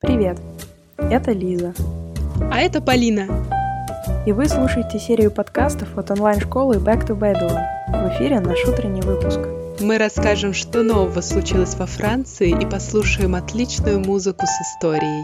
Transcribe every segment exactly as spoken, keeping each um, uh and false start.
Привет, это Лиза. А это Полина. И вы слушаете серию подкастов от онлайн-школы Back to Babylon. В эфире наш утренний выпуск. Мы расскажем, что нового случилось во Франции, и послушаем отличную музыку с историей.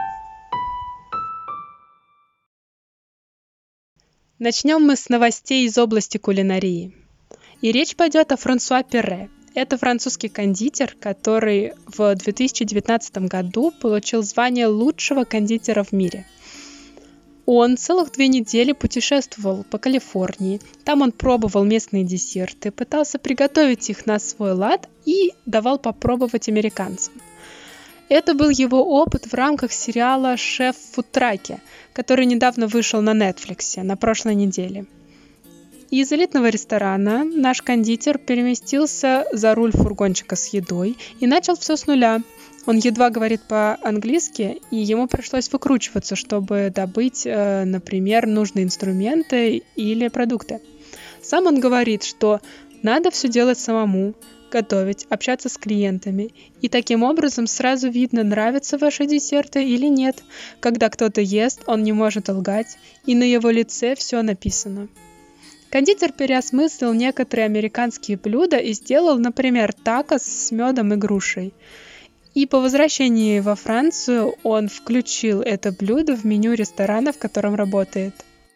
Начнем мы с новостей из области кулинарии. И речь пойдет о Франсуа Перре. Это французский кондитер, который в две тысячи девятнадцатом году получил звание лучшего кондитера в мире. Он целых две недели путешествовал по Калифорнии. Там он пробовал местные десерты, пытался приготовить их на свой лад и давал попробовать американцам. Это был его опыт в рамках сериала «Шеф в фудтраке», который недавно вышел на Netflix на прошлой неделе. Из элитного ресторана наш кондитер переместился за руль фургончика с едой и начал все с нуля. Он едва говорит по-английски, и ему пришлось выкручиваться, чтобы добыть, например, нужные инструменты или продукты. Сам он говорит, что надо все делать самому, готовить, общаться с клиентами. И таким образом сразу видно, нравятся ваши десерты или нет. Когда кто-то ест, он не может лгать, и на его лице все написано. Кондитер переосмыслил некоторые американские блюда и сделал, например, такос с медом и грушей. И по возвращении во Францию он включил это блюдо в меню ресторана, в котором работает.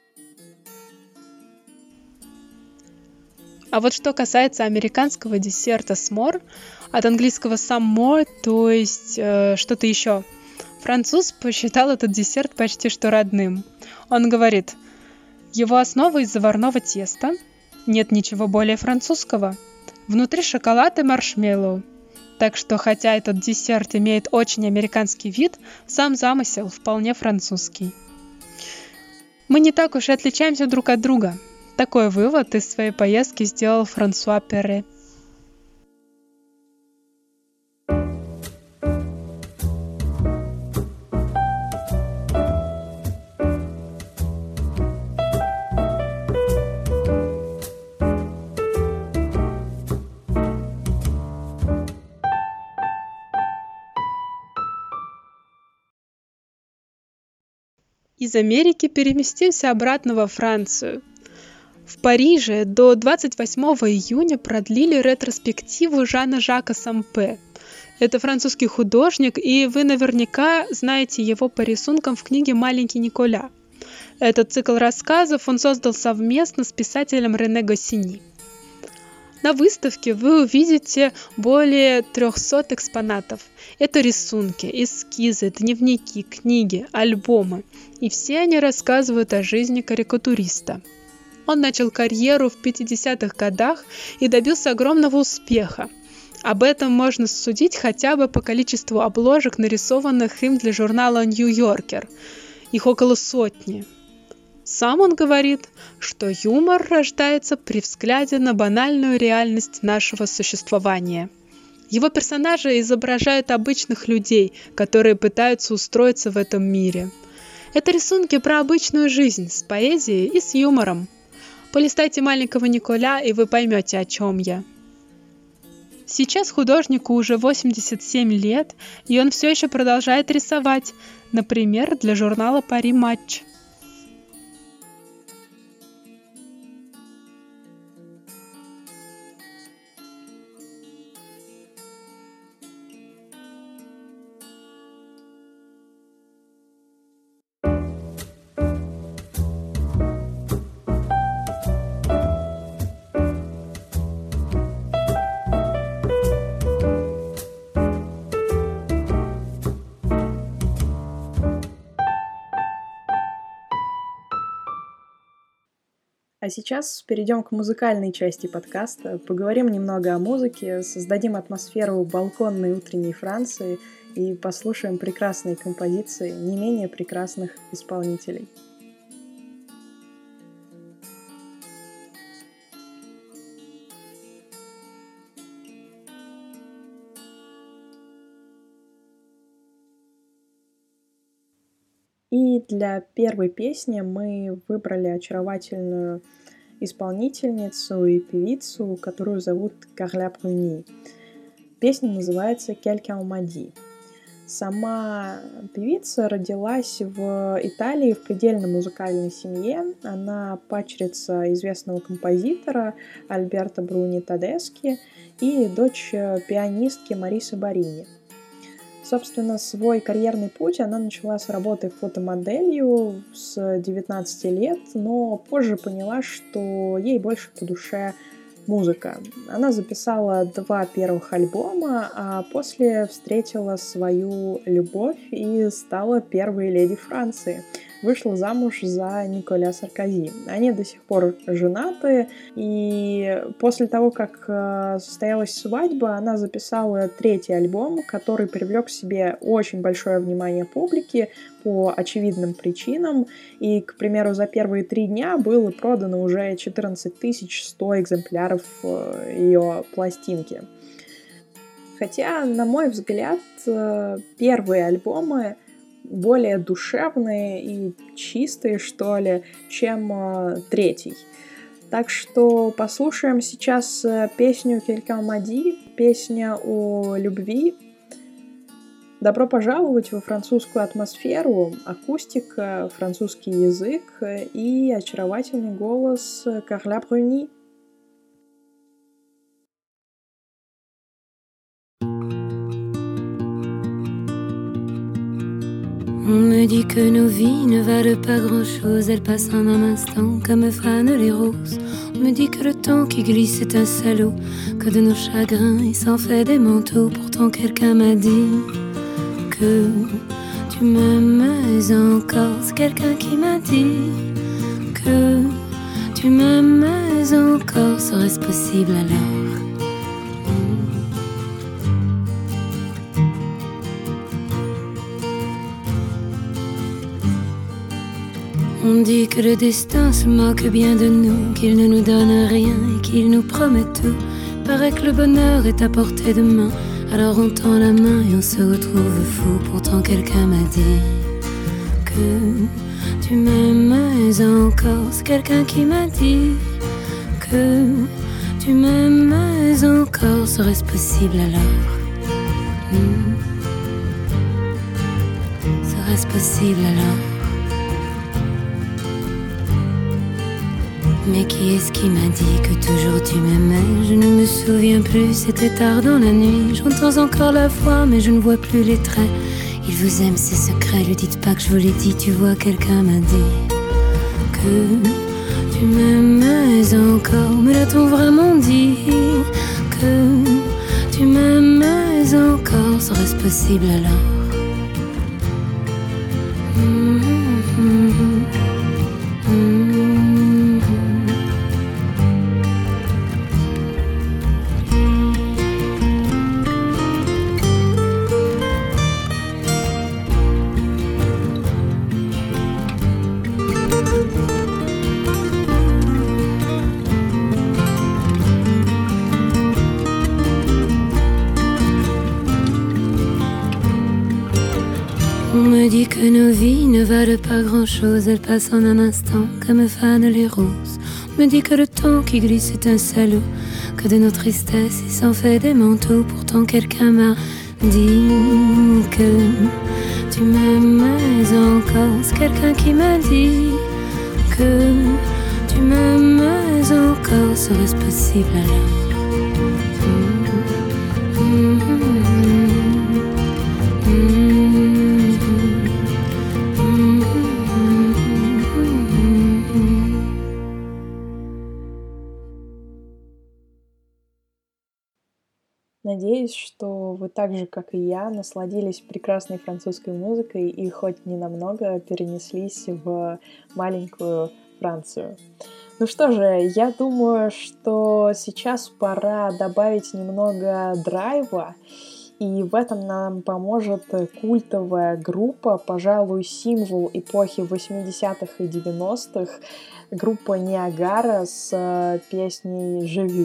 А вот что касается американского десерта s'more, от английского some more, то есть э, что-то еще, француз посчитал этот десерт почти что родным. Он говорит: его основа из заварного теста, нет ничего более французского, внутри шоколад и маршмеллоу. Так что, хотя этот десерт имеет очень американский вид, сам замысел вполне французский. Мы не так уж и отличаемся друг от друга. Такой вывод из своей поездки сделал Франсуа Перре. Из Америки переместимся обратно во Францию. В Париже до двадцать восьмого июня продлили ретроспективу Жана Жака Сампе. Это французский художник, и вы наверняка знаете его по рисункам в книге «Маленький Николя». Этот цикл рассказов он создал совместно с писателем Рене Госсини. На выставке вы увидите более трехсот экспонатов. Это рисунки, эскизы, дневники, книги, альбомы. И все они рассказывают о жизни карикатуриста. Он начал карьеру в пятидесятых годах и добился огромного успеха. Об этом можно судить хотя бы по количеству обложек, нарисованных им для журнала «Нью-Йоркер». Их около сотни. Сам он говорит, что юмор рождается при взгляде на банальную реальность нашего существования. Его персонажи изображают обычных людей, которые пытаются устроиться в этом мире. Это рисунки про обычную жизнь с поэзией и с юмором. Полистайте «Маленького Николя», и вы поймете, о чем я. Сейчас художнику уже восемьдесят семь лет, и он все еще продолжает рисовать, например, для журнала «Пари Матч». А сейчас перейдем к музыкальной части подкаста, поговорим немного о музыке, создадим атмосферу балконной утренней Франции и послушаем прекрасные композиции не менее прекрасных исполнителей. И для первой песни мы выбрали очаровательную исполнительницу и певицу, которую зовут Карля Бруни. Песня называется «Quelqu'un m'a dit». Сама певица родилась в Италии в предельно музыкальной семье. Она падчерица известного композитора Альберто Бруни Тедески и дочь пианистки Марисы Борини. Собственно, свой карьерный путь она начала с работы фотомоделью с девятнадцати лет, но позже поняла, что ей больше по душе музыка. Она записала два первых альбома, а после встретила свою любовь и стала первой леди Франции. Вышла замуж за Николя Саркози. Они до сих пор женаты, и после того, как состоялась свадьба, она записала третий альбом, который привлек к себе очень большое внимание публики по очевидным причинам. И, к примеру, за первые три дня было продано уже четырнадцать тысяч сто экземпляров ее пластинки. Хотя, на мой взгляд, первые альбомы более душевные и чистые, что ли, чем э, третий. Так что послушаем сейчас песню «Quelqu'un m'a dit», песня о любви. Добро пожаловать во французскую атмосферу, акустика, французский язык и очаровательный голос Карла Бруни. On me dit que nos vies ne valent pas grand-chose, elles passent en un instant comme fanent les roses. On me dit que le temps qui glisse est un salaud, que de nos chagrins il s'en fait des manteaux. Pourtant quelqu'un m'a dit que tu m'aimes encore. C'est quelqu'un qui m'a dit que tu m'aimes encore. Serait-ce possible alors? On dit que le destin se moque bien de nous, qu'il ne nous donne rien et qu'il nous promet tout. Paraît que le bonheur est à portée de main, alors on tend la main et on se retrouve fou. Pourtant quelqu'un m'a dit que tu m'aimes encore. C'est quelqu'un qui m'a dit que tu m'aimes encore. Serait-ce possible alors? hmm. Serait-ce possible alors? Mais qui est-ce qui m'a dit que toujours tu m'aimais? Je ne me souviens plus, c'était tard dans la nuit. J'entends encore la voix, mais je ne vois plus les traits. Il vous aime, c'est secret, lui dites pas que je vous l'ai dit. Tu vois, quelqu'un m'a dit que tu m'aimais encore. Me l'a-t-on vraiment dit que tu m'aimais encore? Serait-ce possible alors? mm-hmm. On me dit que nos vies ne valent pas grand-chose, elles passent en un instant comme fanent les roses. On me dit que le temps qui glisse est un salaud, que de nos tristesses il s'en fait des manteaux. Pourtant quelqu'un m'a dit que tu m'aimais encore. C'est quelqu'un qui m'a dit que tu m'aimais encore. Serait-ce possible alors? mm-hmm. Надеюсь, что вы так же, как и я, насладились прекрасной французской музыкой и хоть ненамного перенеслись в маленькую Францию. Ну что же, я думаю, что сейчас пора добавить немного драйва, и в этом нам поможет культовая группа, пожалуй, символ эпохи восьмидесятых и девяностых, группа Ниагара с песней «Je veux».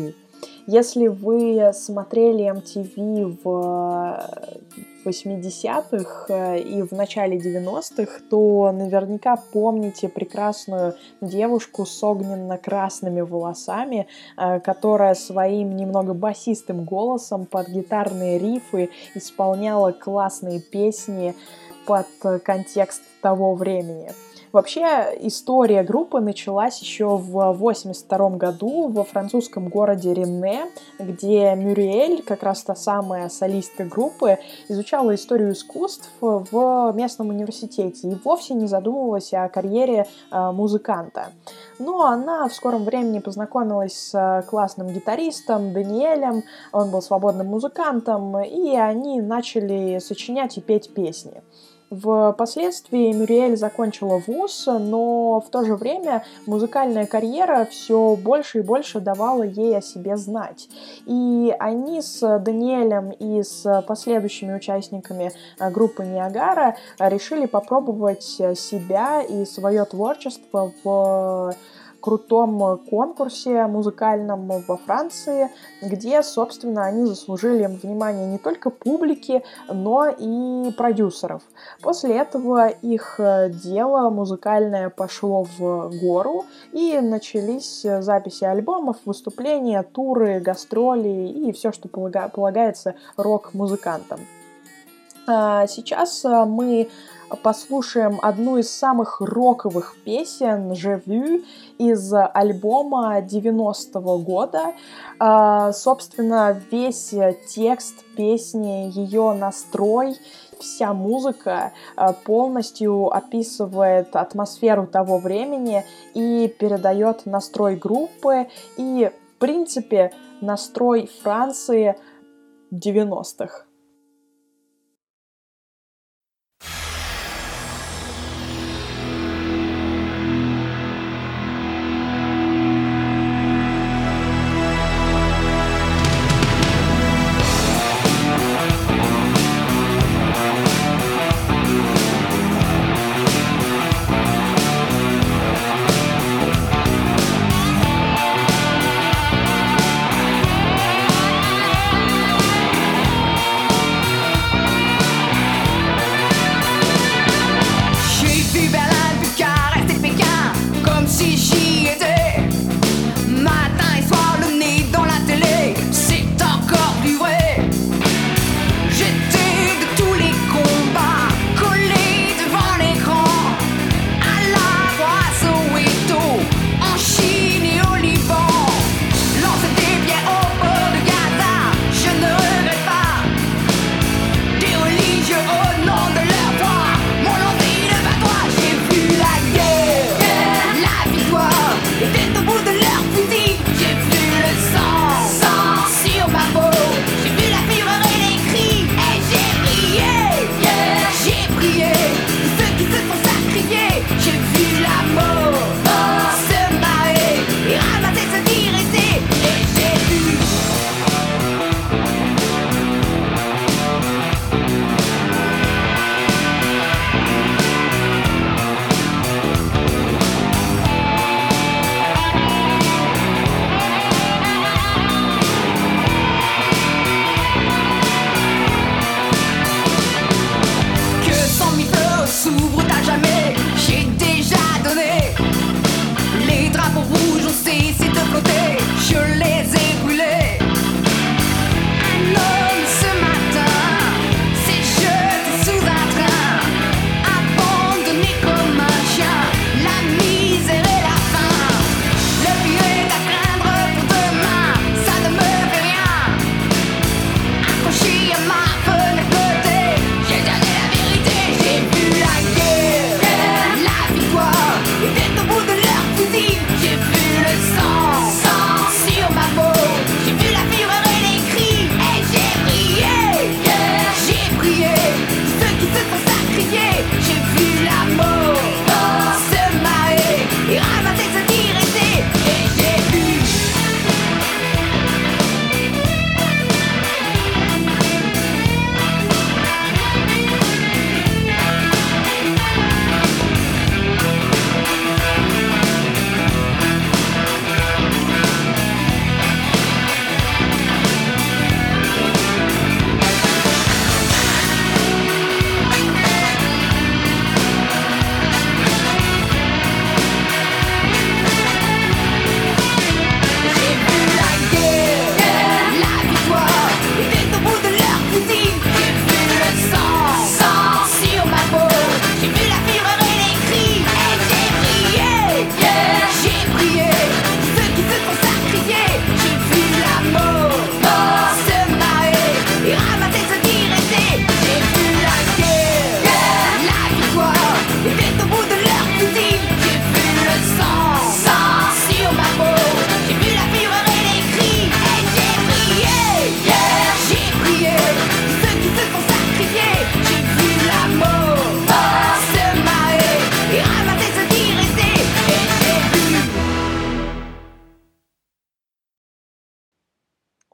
Если вы смотрели эм ти ви в восьмидесятых и в начале девяностых, то наверняка помните прекрасную девушку с огненно-красными волосами, которая своим немного басистым голосом под гитарные рифы исполняла классные песни под контекст того времени. Вообще, история группы началась еще в восемьдесят втором году во французском городе Ренне, где Мюриэль, как раз та самая солистка группы, изучала историю искусств в местном университете и вовсе не задумывалась о карьере э, музыканта. Но она в скором времени познакомилась с классным гитаристом Даниэлем, он был свободным музыкантом, и они начали сочинять и петь песни. Впоследствии Мюриэль закончила вуз, но в то же время музыкальная карьера все больше и больше давала ей о себе знать. И они с Даниэлем и с последующими участниками группы Ниагара решили попробовать себя и свое творчество в крутом конкурсе музыкальном во Франции, где, собственно, они заслужили внимание не только публики, но и продюсеров. После этого их дело музыкальное пошло в гору, и начались записи альбомов, выступления, туры, гастроли и все, что полагается рок-музыкантам. Сейчас мы послушаем одну из самых роковых песен «Je vu» из альбома девяностого года. Собственно, весь текст песни, ее настрой, вся музыка полностью описывает атмосферу того времени и передает настрой группы и, в принципе, настрой Франции девяностых. S'ouvrent à jamais. J'ai déjà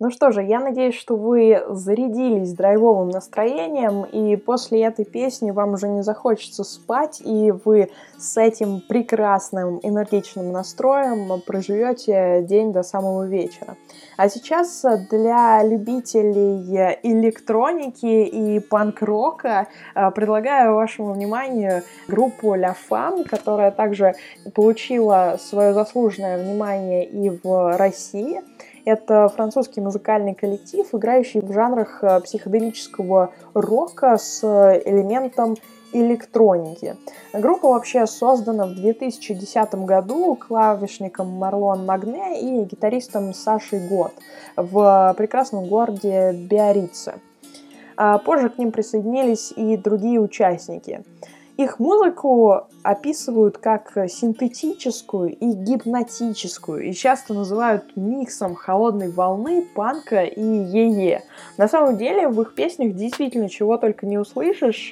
Ну что же, я надеюсь, что вы зарядились драйвовым настроением, и после этой песни вам уже не захочется спать, и вы с этим прекрасным энергичным настроем проживете день до самого вечера. А сейчас для любителей электроники и панк-рока предлагаю вашему вниманию группу La Fame, которая также получила свое заслуженное внимание и в России. Это французский музыкальный коллектив, играющий в жанрах психоделического рока с элементом электроники. Группа вообще создана в две тысячи десятом году клавишником Марлон Магне и гитаристом Сашей Гот в прекрасном городе Биаррице. А позже к ним присоединились и другие участники. Их музыку описывают как синтетическую и гипнотическую, и часто называют миксом холодной волны, панка и е-е. На самом деле в их песнях действительно чего только не услышишь,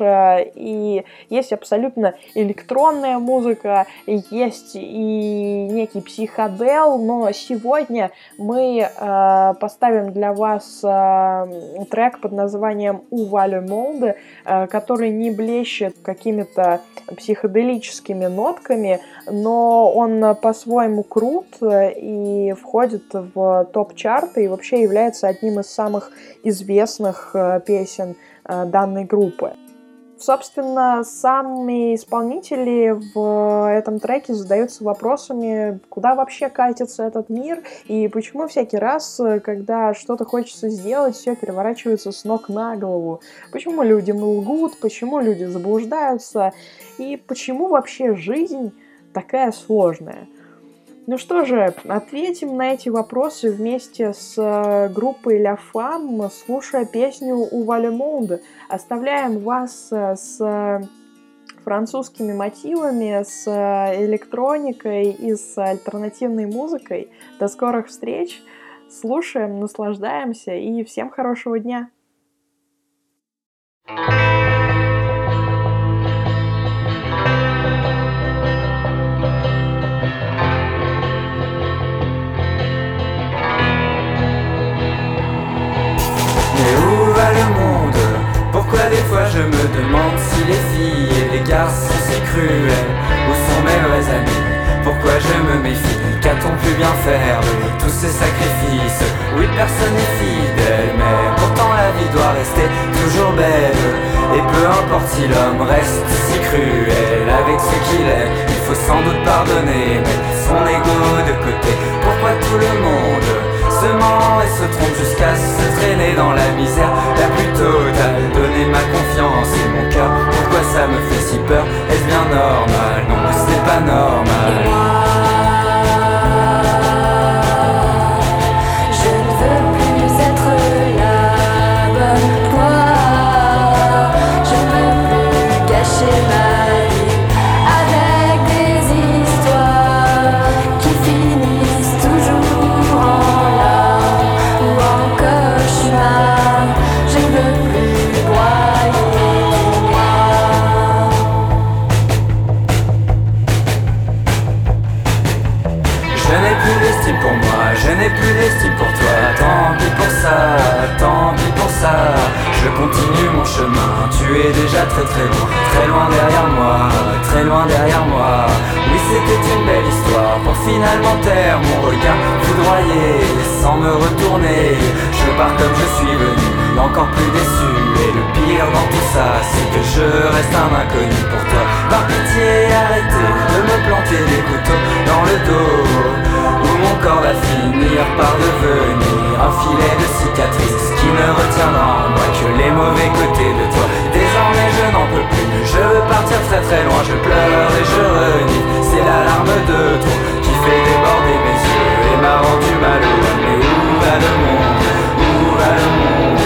и есть абсолютно электронная музыка, есть и некий психодел, но сегодня мы э, поставим для вас э, трек под названием «Où le monde», э, который не блещет какими-то психоделическими нотками, но он по-своему крут и входит в топ-чарты и вообще является одним из самых известных песен данной группы. Собственно, сами исполнители в этом треке задаются вопросами, куда вообще катится этот мир и почему всякий раз, когда что-то хочется сделать, все переворачивается с ног на голову. Почему люди лгут, почему люди заблуждаются и почему вообще жизнь такая сложная. Ну что же, ответим на эти вопросы вместе с группой La Fame, слушая песню «Où le monde». Оставляем вас с французскими мотивами, с электроникой и с альтернативной музыкой. До скорых встреч, слушаем, наслаждаемся и всем хорошего дня! Pourquoi des fois je me demande si les filles et les garçons sont si cruels? Où sont mes vrais amis? Pourquoi je me méfie? Qu'a-t-on pu bien faire de tous ces sacrifices? Oui, personne n'est fidèle, mais pourtant la vie doit rester toujours belle. Et peu importe si l'homme reste si cruel avec ce qu'il est, il faut sans doute pardonner, mettre son ego de côté. Pourquoi tout le monde se ment et se trompe jusqu'à se traîner dans la misère la plus totale? Donner ma confiance et mon cœur, pourquoi ça me fait si peur? Est-ce bien normal? Non, ce n'est pas normal. Et moi, je ne veux plus être la bonne foi. Je ne veux plus gâcher ma vie avec des histoires qui finissent toujours en larmes ou en cauchemar. Je ne veux plus broyer moi. Je n'ai plus d'estime pour moi, je n'ai plus d'estime pour toi. Tant pis pour ça, tant pis pour ça. Je continue mon chemin, tu es déjà très très loin. Très loin derrière moi, très loin derrière moi. Oui, c'était une belle histoire pour finalement taire mon regard foudroyé. Sans me retourner, je pars comme je suis venu, encore plus déçu. Et le pire dans tout ça, c'est que je reste un inconnu pour toi. Par pitié, arrêtez de me planter des couteaux dans le dos, où mon corps va finir par devenir un filet de cicatrices qui ne retiendra en moi que les mauvais côtés de toi. Désormais je n'en peux plus, je veux partir très très loin. Je pleure et je renie, c'est l'alarme de trop qui fait déborder mes yeux et m'a rendu malheureux. Mais où va le monde? Où va le monde?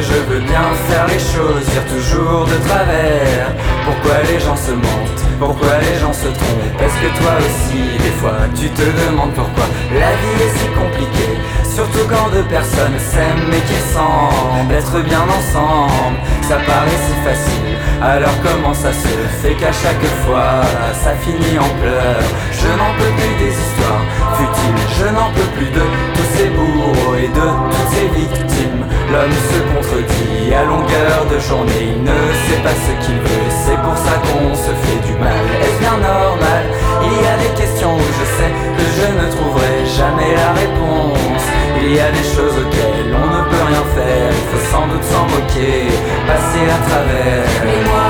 je veux bien faire les choses, dire toujours de travers. Pourquoi les gens se mentent, pourquoi les gens se trompent? Est-ce que toi aussi, des fois, tu te demandes pourquoi la vie est si compliquée? Surtout quand deux personnes s'aiment et qui semblent être bien ensemble. Ça paraît si facile, alors comment ça se fait qu'à chaque fois ça finit en pleurs? Je n'en peux plus des histoires futiles, je n'en peux plus de tous ces bourreaux et de toutes ces victimes. L'homme se contredit à longueur de journée, il ne sait pas ce qu'il veut, c'est pour ça qu'on se fait du mal. Est-ce bien normal? Il y a des questions où je sais que je ne trouverai jamais la réponse. Il y a des choses auxquelles on ne peut rien faire, il faut sans doute s'en moquer, passer à travers. Mais moi,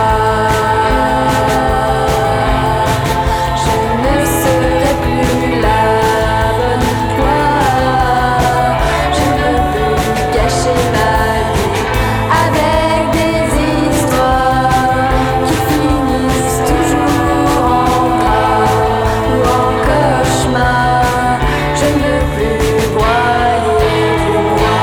je ne serai plus la bonne toi. Je ne peux gâcher ma vie avec des histoires qui finissent toujours en drame ou en cauchemar. Je ne veux plus broyer du noir.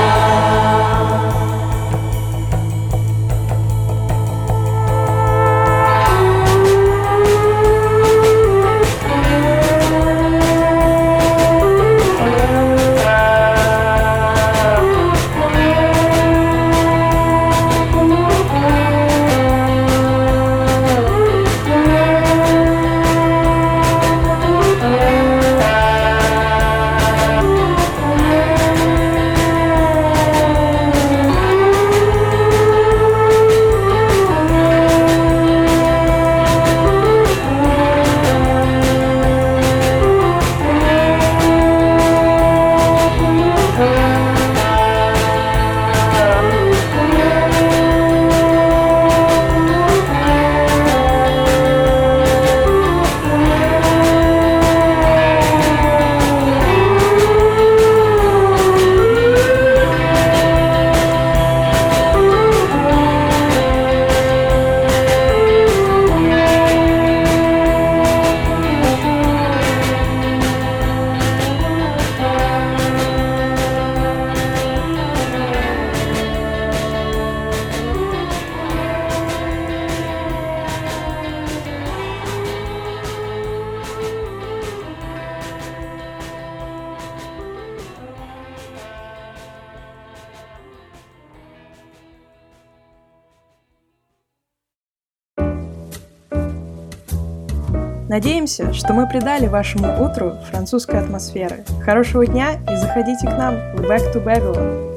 Надеемся, что мы придали вашему утру французской атмосферы. Хорошего дня и заходите к нам в Back to Babylon.